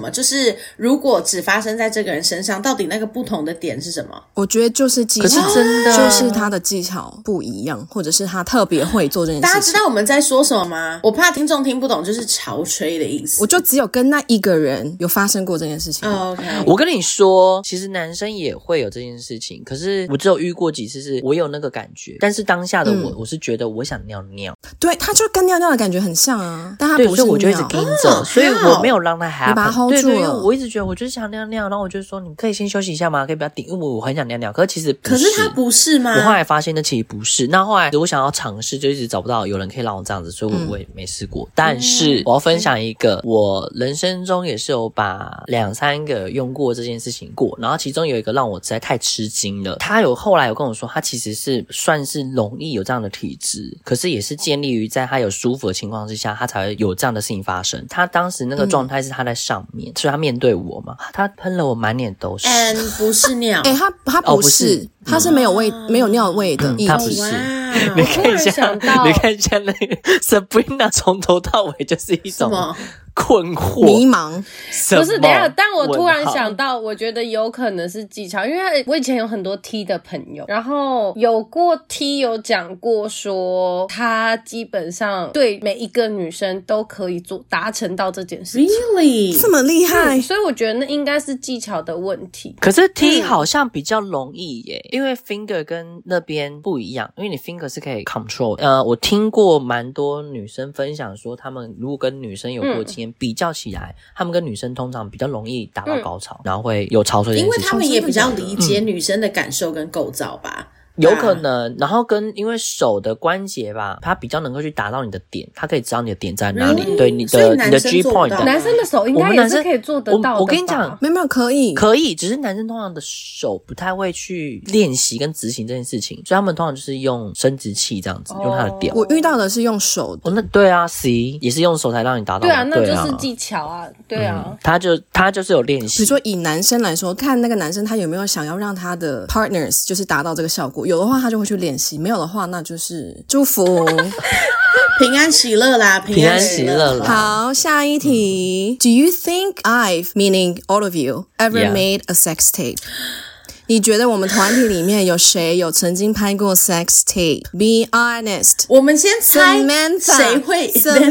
麼？就是如果只發生在這個人身上，到底那個不同的點是什麼？ 我覺得就是技巧， 可是真的就是他的技巧不一樣，或者是他特別會做這件事情。 大家知道我們在說什麼嗎？我怕聽眾聽不懂，就是潮吹的意思。 我就只有跟那一個人有發生過這件事情。 Oh, OK， 我跟你說，其實男生也會有這件事情，可是我只有遇過幾次，是我有那個感覺，但是當下的我，嗯、我是覺得我想尿尿。 對，他就跟尿尿的感覺很像啊，但他不是尿， 所以我就一直盯着，哦、所以我沒有讓他 happen。 你把他 hold 住了。 對對，因為我一直覺得我就是想尿尿，然後我就說你可以先休息一下嗎？可以不要頂，因為我很想尿尿。可是其實不是， 可是他不是嗎？ 我後來發現那其實不是。那後來我想要嘗試，就一直找不到有人可以讓我這樣子，所以我也沒試過。嗯、但是我要分享一個，我人生中也是有把兩三個用過這件事情過，然後其中有一個讓我實在太吃驚了。他有後來有跟我說，他其實是算是容易有這樣的體質，可是也是建立於在他有舒服的情況之下，他才會有這樣的事情發生。他當時那個狀態是他在上面，嗯、所以他面對我嘛，他噴了我滿臉都是。 嗯，不是尿， 哎、欸，他他不是，哦、不是他是沒有味、嗯、沒有尿味的液體、嗯， 他不是。 Wow, 你看一下，你看一下那個 Sabrina 從頭到尾就是一種困惑、 迷茫。 不是，等一下，但我突然想到，我覺得有可能是技巧，因為我以前有很多 T 的朋友，然後有過 T 有講過說，他基本上對每一個女生都可以做達成到這件事情。 Really？ 這麼厲害？ 所以我覺得那應該是技巧的問題。 可是 T 好像比較容易耶，嗯、因為 finger 跟那邊不一樣，因為你 finger 是可以 control。呃，我聽過蠻多女生分享說，她們如果跟女生有過經驗。嗯比較起來，他们跟女生通常比較容易達到高潮，嗯、然後會有潮水，因為他們也比較理解女生的感受跟構造吧。嗯有可能，然後跟因為手的關節吧，它比較能夠去達到你的點，它可以知道你的點在哪裡。Really? 對你的你的 G point， 男生的手應該也是可以做得到的吧。我，我跟你講， 沒有沒有可以可以，只是男生通常的手不太會去練習跟執行這件事情，所以他們通常就是用生殖器這樣子，哦、用他的屌。 我遇到的是用手的， 哦，那對啊 ，C 也是用手才讓你達到的。 對啊，那就是技巧啊，對啊，嗯、他就他就是有練習。 比如說以男生來說，看那個男生他有沒有想要讓他的 partners 就是達到這個效果，有的話他就會去練習，沒有的話那就是祝福平安喜樂啦，平安喜樂啦。 好，下一題、嗯、Do you think I've, meaning all of you, ever Yeah. made a sex tape? 你覺得我們團體裡面有誰有曾經拍過 sex tape? Be honest. 我們先猜 Samantha 誰會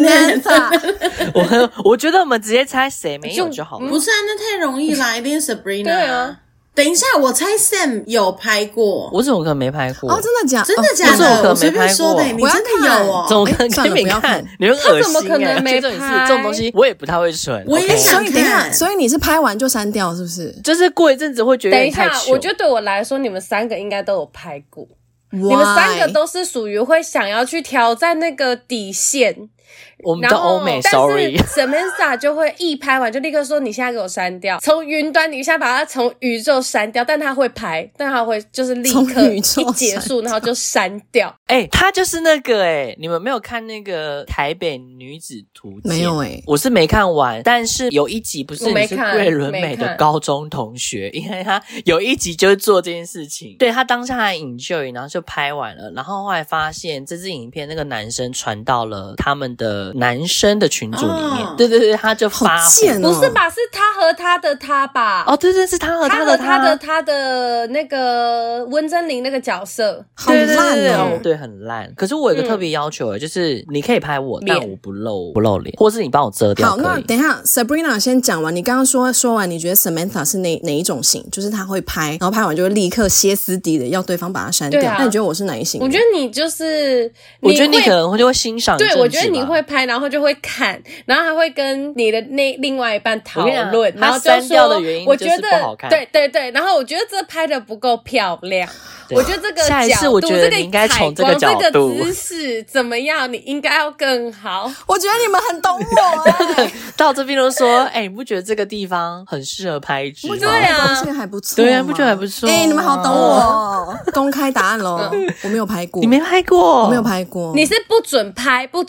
Samantha 我我覺得我們直接猜誰沒有就好了。 不是啊，那太容易啦，一定是 Sabrina。對啊。 等一下，我猜 Sam 有拍過， 我怎麼可能沒拍過？ 哦，真的假？ 真的假的？ 哦、我隨便說的，你真的有哦？ 怎麼可能？欸、你沒看？你很惡心、欸。 他怎麼可能沒拍？ 這種東西我也不太會存。 我也想看。 所以等一下，所以你是拍完就刪掉，是不是？ 就是過一陣子會覺得有點太糗。 等一下，我覺得對我來說，你們三個應該都有拍過。 Why? 你們三個都是屬於會想要去挑戰那個底線。 我們的歐美 ，sorry， 但是 Samantha 就會一拍完就立刻說：“你現在給我刪掉，從雲端，你現在把它從宇宙刪掉。”但他會拍，但他會就是立刻一結束，然後就刪掉。 哎、欸，他就是那個哎、欸，你們沒有看那個台北女子圖鑑？ 沒有哎、欸， 我是沒看完，但是有一集不是你是桂綸鎂的高中同學，因為他有一集就是做這件事情，對他當下還 enjoy，然後就拍完了，然後後來發現這支影片那個男生傳到了他們的男生的群組裡面，哦、對對對，他就發火、 哦、 不是吧？是他和他的他吧？ 哦，對對，是他和他的他， 他和他的他的那個溫貞菱那個角色， 好爛哦， 對，很爛。可是我有一個特別要求，就是你可以拍我，但我不露不露臉，或是你幫我遮掉。 好，那等一下 ，Sabrina 先講完。你剛剛說說完，你覺得 Samantha 是哪哪一種型？就是他會拍，然後拍完就會立刻歇斯底里的要對方把它刪掉。那、啊、你覺得我是哪一型？ 我覺得你就是， 我覺得你可能會就會欣賞。 對，我覺得你會拍，然後就會看，然後還會跟你的那另外一半討論，然後就說，我覺得對對對，然後我覺得這拍的不夠漂亮。我覺得這個下一次我覺得你應該從這個角度， 這個姿勢怎麼樣？你應該要更好。 我覺得你們很懂我、欸。 到這邊都說，哎、欸，你不覺得這個地方很適合拍一支嗎？ 對啊，這個還不錯。 對啊，不覺得還不錯？ 哎、欸，你們好懂我。公開答案咯，我沒有拍過。 你沒拍過？ 我沒有拍過。 你是不准拍，不准對方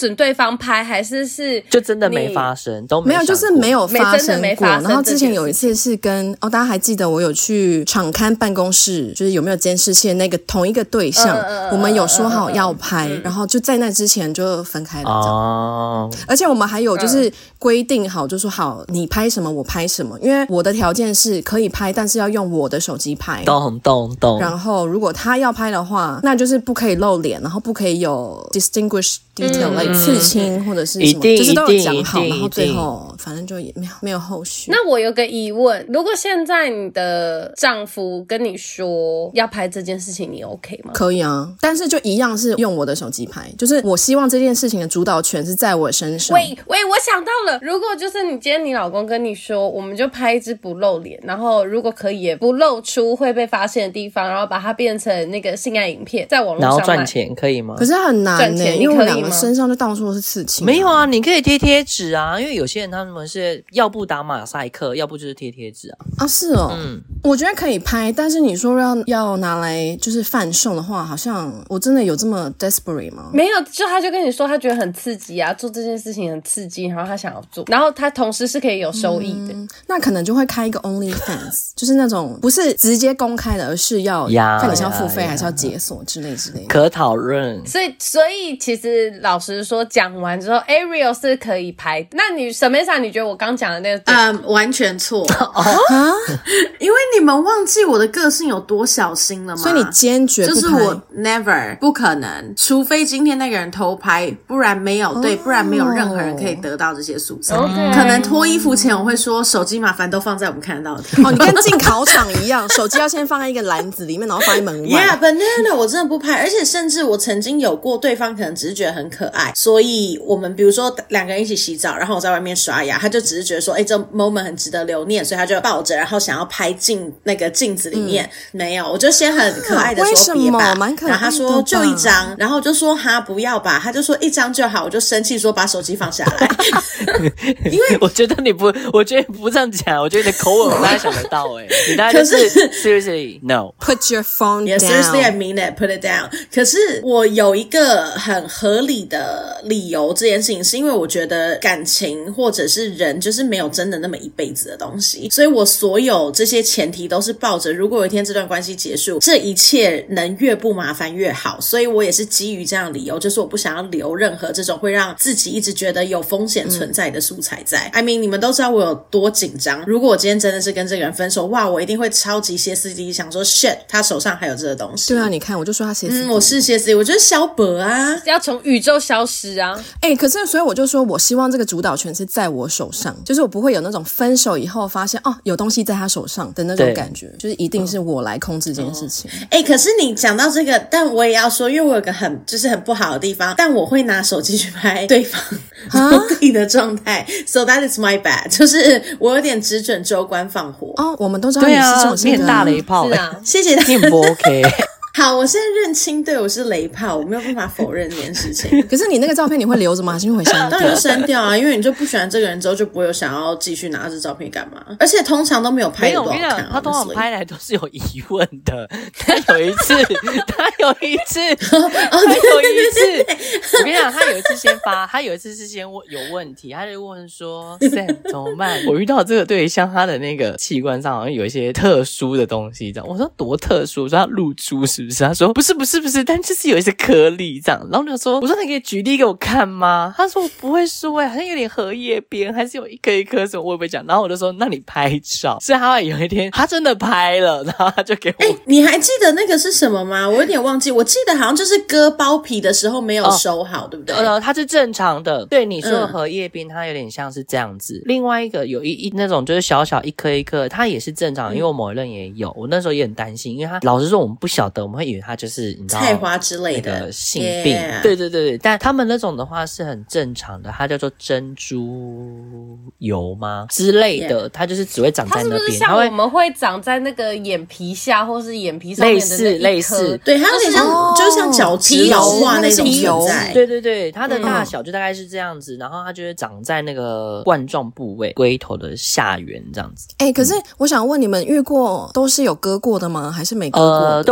方拍，還是是就真的沒發生，都沒沒有，就是沒有發生過。 發生然後之前有一次是跟哦，大家還記得我有去場勘辦公室，就是有沒有監視器的那個同一個對象，呃、我們有說好要拍，呃、然後就在那之前就分開了。哦，而且我們還有就是規定好，就說好你拍什麼我拍什麼，因為我的條件是可以拍，但是要用我的手機拍。 懂懂懂。 然後如果他要拍的話，那就是不可以露臉，然後不可以有 distinguished detail，嗯、like 刺青或者是什麼，就是都有講好，然後最後反正就也沒有沒有後續。 那我有個疑問，如果現在你的丈夫跟你說要拍這件事情，你 OK 嗎？ 可以啊，但是就一樣是用我的手機拍，就是我希望這件事情的主導權是在我身上。 喂喂，我想到了，如果就是你今天你老公跟你說，我們就拍一支不露臉，然後如果可以也不露出會被發現的地方，然後把它變成那個性愛影片，在網絡上賣， 然後賺錢可以嗎？ 可是很難呢，因為我們兩個身上就到處都是刺青。 沒有啊，你可以貼貼紙啊，因為有些人他們是要不打馬賽克，要不就是貼貼紙啊。 啊，是哦，嗯，我覺得可以拍，但是你說要要拿來就是販售的話，好像我真的有這麼 desperate 嗎？ 沒有，就他就跟你說他覺得很刺激啊，做這件事情很刺激，然後他想要做，然後他同時是可以有收益的， 嗯、那可能就會開一個 OnlyFans， 就是那種不是直接公開的，而是要看你是要付費還是要解鎖之類之類的， 可討論。 所以，所以其實老實說，講完之後 ，Ariel 是可以拍。那你Samantha，你覺得我剛講的那個？ 嗯，完全錯啊！因為你們忘記我的個性有多小心了嗎？ 所以你堅決不拍， 就是我 never 不可能，除非今天那個人偷拍，不然沒有、哦、對，不然沒有任何人可以得到這些素材。Okay. 可能脫衣服前我會說，手機麻煩都放在我們看得到的地方。 哦，你跟進考場一樣，手機要先放在一個籃子裡面，然後放在門外。 Yeah, but no, no, 我真的不拍，而且甚至我曾經有過對方可能只是覺得很可愛，所以我們比如說兩個人一起洗澡，然後我在外面刷牙，他就只是覺得說，哎、欸，這 moment 很值得留念，所以他就抱着，然後想要拍進那個鏡子裡面。嗯、沒有，我就先很可愛的說別吧，蠻可愛的吧，然後他說就一張，然後我就說哈不要吧，他就說一張就好，我就生氣說把手機放下來。因為我覺得你不，我覺得你不這樣講，我覺得你的口吻我大概想得到哎、欸，你大概就是 seriously no put your phone yeah, down seriously I mean it put it down。可是我有一個很合理的理由，這件事情是因為我覺得感情或者是人就是沒有真的那麼一輩子的東西，所以我所有這些前提都是抱着如果有一天這段關係結束，這一切能越不麻煩越好，所以我也是基於這樣的理由，就是我不想要留任何這種會讓自己一直覺得有風險存在的素材在。嗯、I mean 你們都知道我有多緊張，如果我今天真的是跟這個人分手，哇，我一定會超級歇斯底里想說 shit 他手上還有這個東西。 對啊，你看我就說他歇斯底里， 嗯，我是歇斯底里，我就是蕭伯啊， 要從宇宙消失啊。 哎、欸，可是所以我就說我希望這個主導權是在我手上，就是我不會有那種分手以後發現哦有東西在他手上的那種感覺，就是一定是我來控制這件事情。 哎、嗯欸，可是你講到這個，但我也要說，因為我有個很就是很不好的地方，但我會拿手機去拍對方自己的狀態 ，so that is my bad， 就是我有點只準州官放火。 哦，我們都知道你是這種性格， 你很大雷炮， 是啊， 謝謝他， 你很不 OK。 好，我現在認清，對，我是雷炮，我沒有辦法否認這件事情。 可是你那個照片你會留着嗎？還是會刪掉？ 當然刪掉啊，因為你就不喜歡這個人之後，就不會有想要繼續拿這照片幹嘛。而且通常都沒有拍的多好看。沒有，我跟你講，他通常拍來都是有疑問的。他有一次，他有一次，他有一次，我跟你講，他有一次先發，他有一次是先問有問題，他就問說 Sam 怎麼辦？我遇到這個對象，他的那個器官上好像有一些特殊的東西，這樣。我說多特殊？我說他露出是。是不是？他說不是不是不是，但就是有一些顆粒這樣。然後我就說，我說你可以舉例給我看嗎？他說我不會說哎、欸，好像有點荷葉邊，還是有一顆一顆什麼，我也不會講。然後我就說，那你拍照。所以他有一天他真的拍了，然後他就給我。哎、欸，你還記得那個是什麼嗎？我有點忘記。我記得好像就是割包皮的時候沒有收好，哦、對不對？呃， 它是正常的。對你說的荷葉邊，它有點像是這樣子。嗯、另外一個有一一那種就是小小一顆一顆，它也是正常的。因為我某一任也有，我那時候也很擔心，因為他老實說我們不曉得，我們會以為他就是你知道菜花之類的、 那個、性病。Yeah. 對對對對，但他們那種的話是很正常的，它叫做珍珠油嗎之類的， yeah. 它就是只會長在那邊。它是不是像我們會長在那個眼皮下或是眼皮上面的那一顆？ 類似類似， 對，它有點像，哦、就像角質老化那種油。 對對對，它的大小就大概是這樣子，嗯、然後它就會長在那個冠狀部位，龜頭的下緣這樣子。 哎、欸，可是我想問你們，遇過都是有割過的嗎？還是沒割過的？ 呃，都有，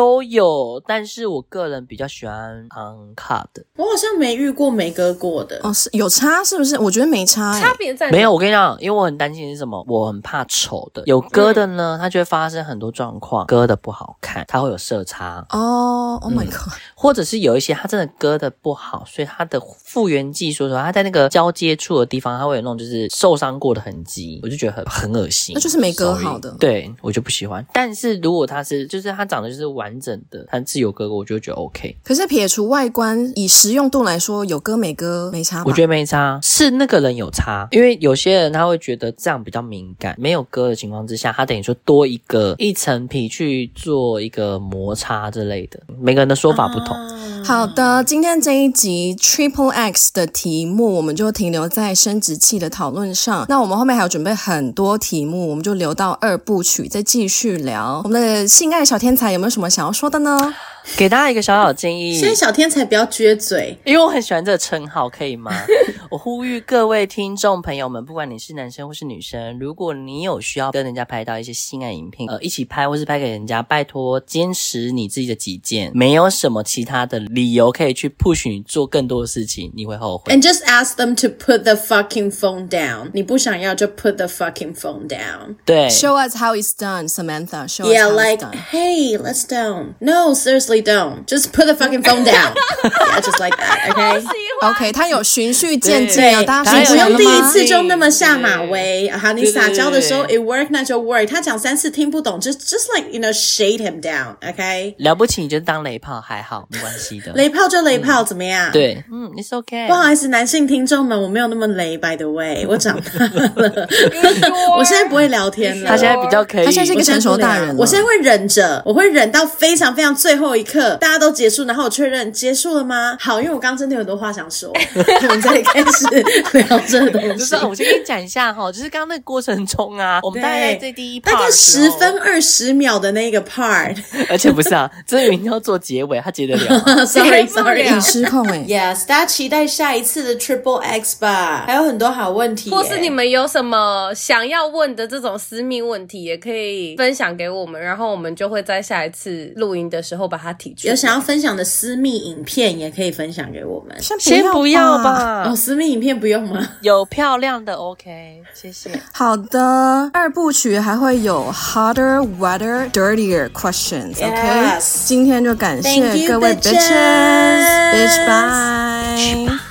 有，但是我個人比較喜歡 uncut 的。 我好像沒遇過沒割過的。 哦，是有差是不是？我覺得沒差、欸。 差別在哪？ 沒有，我跟你講，因為我很擔心是什麼？我很怕醜的。有割的呢，嗯、它就會發生很多狀況，割的不好看，它會有色差。 哦、oh, ，Oh my god！、嗯、 或者是有一些它真的割的不好，所以它的復原技術，它在那個交接處的地方，它會有那種就是受傷過的痕跡，我就覺得很很惡心。 那就是沒割好的。 對，我就不喜歡。但是如果它是，就是它長得就是完整的，它是有割過，我就覺得 OK。可是撇除外觀，以實用度來說，有割沒割沒差吧？ 我覺得沒差，是那個人有差，因為有些人他會覺得這樣比較敏感，沒有割的情況之下，他等於說多一個一層皮去做一個摩擦之類的，每個人的說法不同。 啊、好的，今天這一集 Triple X 的題目我們就停留在生殖器的討論上，那我們後面還有準備很多題目，我們就留到二部曲再繼續聊。我們的性愛小天才有沒有什麼想要說的呢？ 給大家一個小小建議， 現在小天才不要撅嘴， 因為我很喜歡這個稱號，可以嗎？我呼籲各位聽眾朋友們，不管你是男生或是女生，如果你有需要跟人家拍到一些性愛影片，呃，一起拍或是拍給人家，拜託堅持你自己的己見，沒有什麼其他的理由可以去 push 你做更多的事情，你會後悔。 And just ask them to put the fucking phone down. 你不想要就 put the fucking phone down. 對 ，Show us how it's done, Samantha. Show yeah, us how like, it's done. Hey, let's down. No, seriously, don't. Just put the fucking phone down. Yeah, just like that. Okay. OK， 他有循序漸進啊，大家你不用第一次就那麼下對馬威。好，你撒嬌的時候 ，it work 那就 work。他講三次聽不懂，就 just like you know shade him down. OK。 了不起，你就當雷炮還好，沒關係的。 雷炮就雷炮，嗯、怎麼樣？ 對，嗯 ，it's OK。 不好意思，男性聽眾們，我沒有那麼雷。By the way， 我長大了，我現在不會聊天了。 他現在比較可以， 他現在是一個成熟大人了。 我現在會忍着，我會忍到非常非常最後一刻，大家都結束，然後我確認結束了嗎？好，因為我剛剛真的有很多話想說，我們再開始聊這個東西。 就是我先跟你講一下哈，就是剛剛那個過程中啊，我們大概在這第一 part 大概十分二十秒的那個 part， 而且不是啊，這明明要做結尾，他結得了 ？Sorry Sorry， 很失控哎。 Yes， 大家期待下一次的 Triple X 吧，還有很多好問題耶， 或是你們有什麼想要問的這種私密問題，也可以分享給我們，然後我們就會在下一次錄音的時候把它提出來。 有想要分享的私密影片，也可以分享給我們。 先不要吧， 哦，私密影片不用嗎？ 有漂亮的 OK， 謝謝。 好的，二部曲還會有 hotter, wetter, dirtier questions。OK， Yes. 今天就感謝各位 bitches，bitch bye。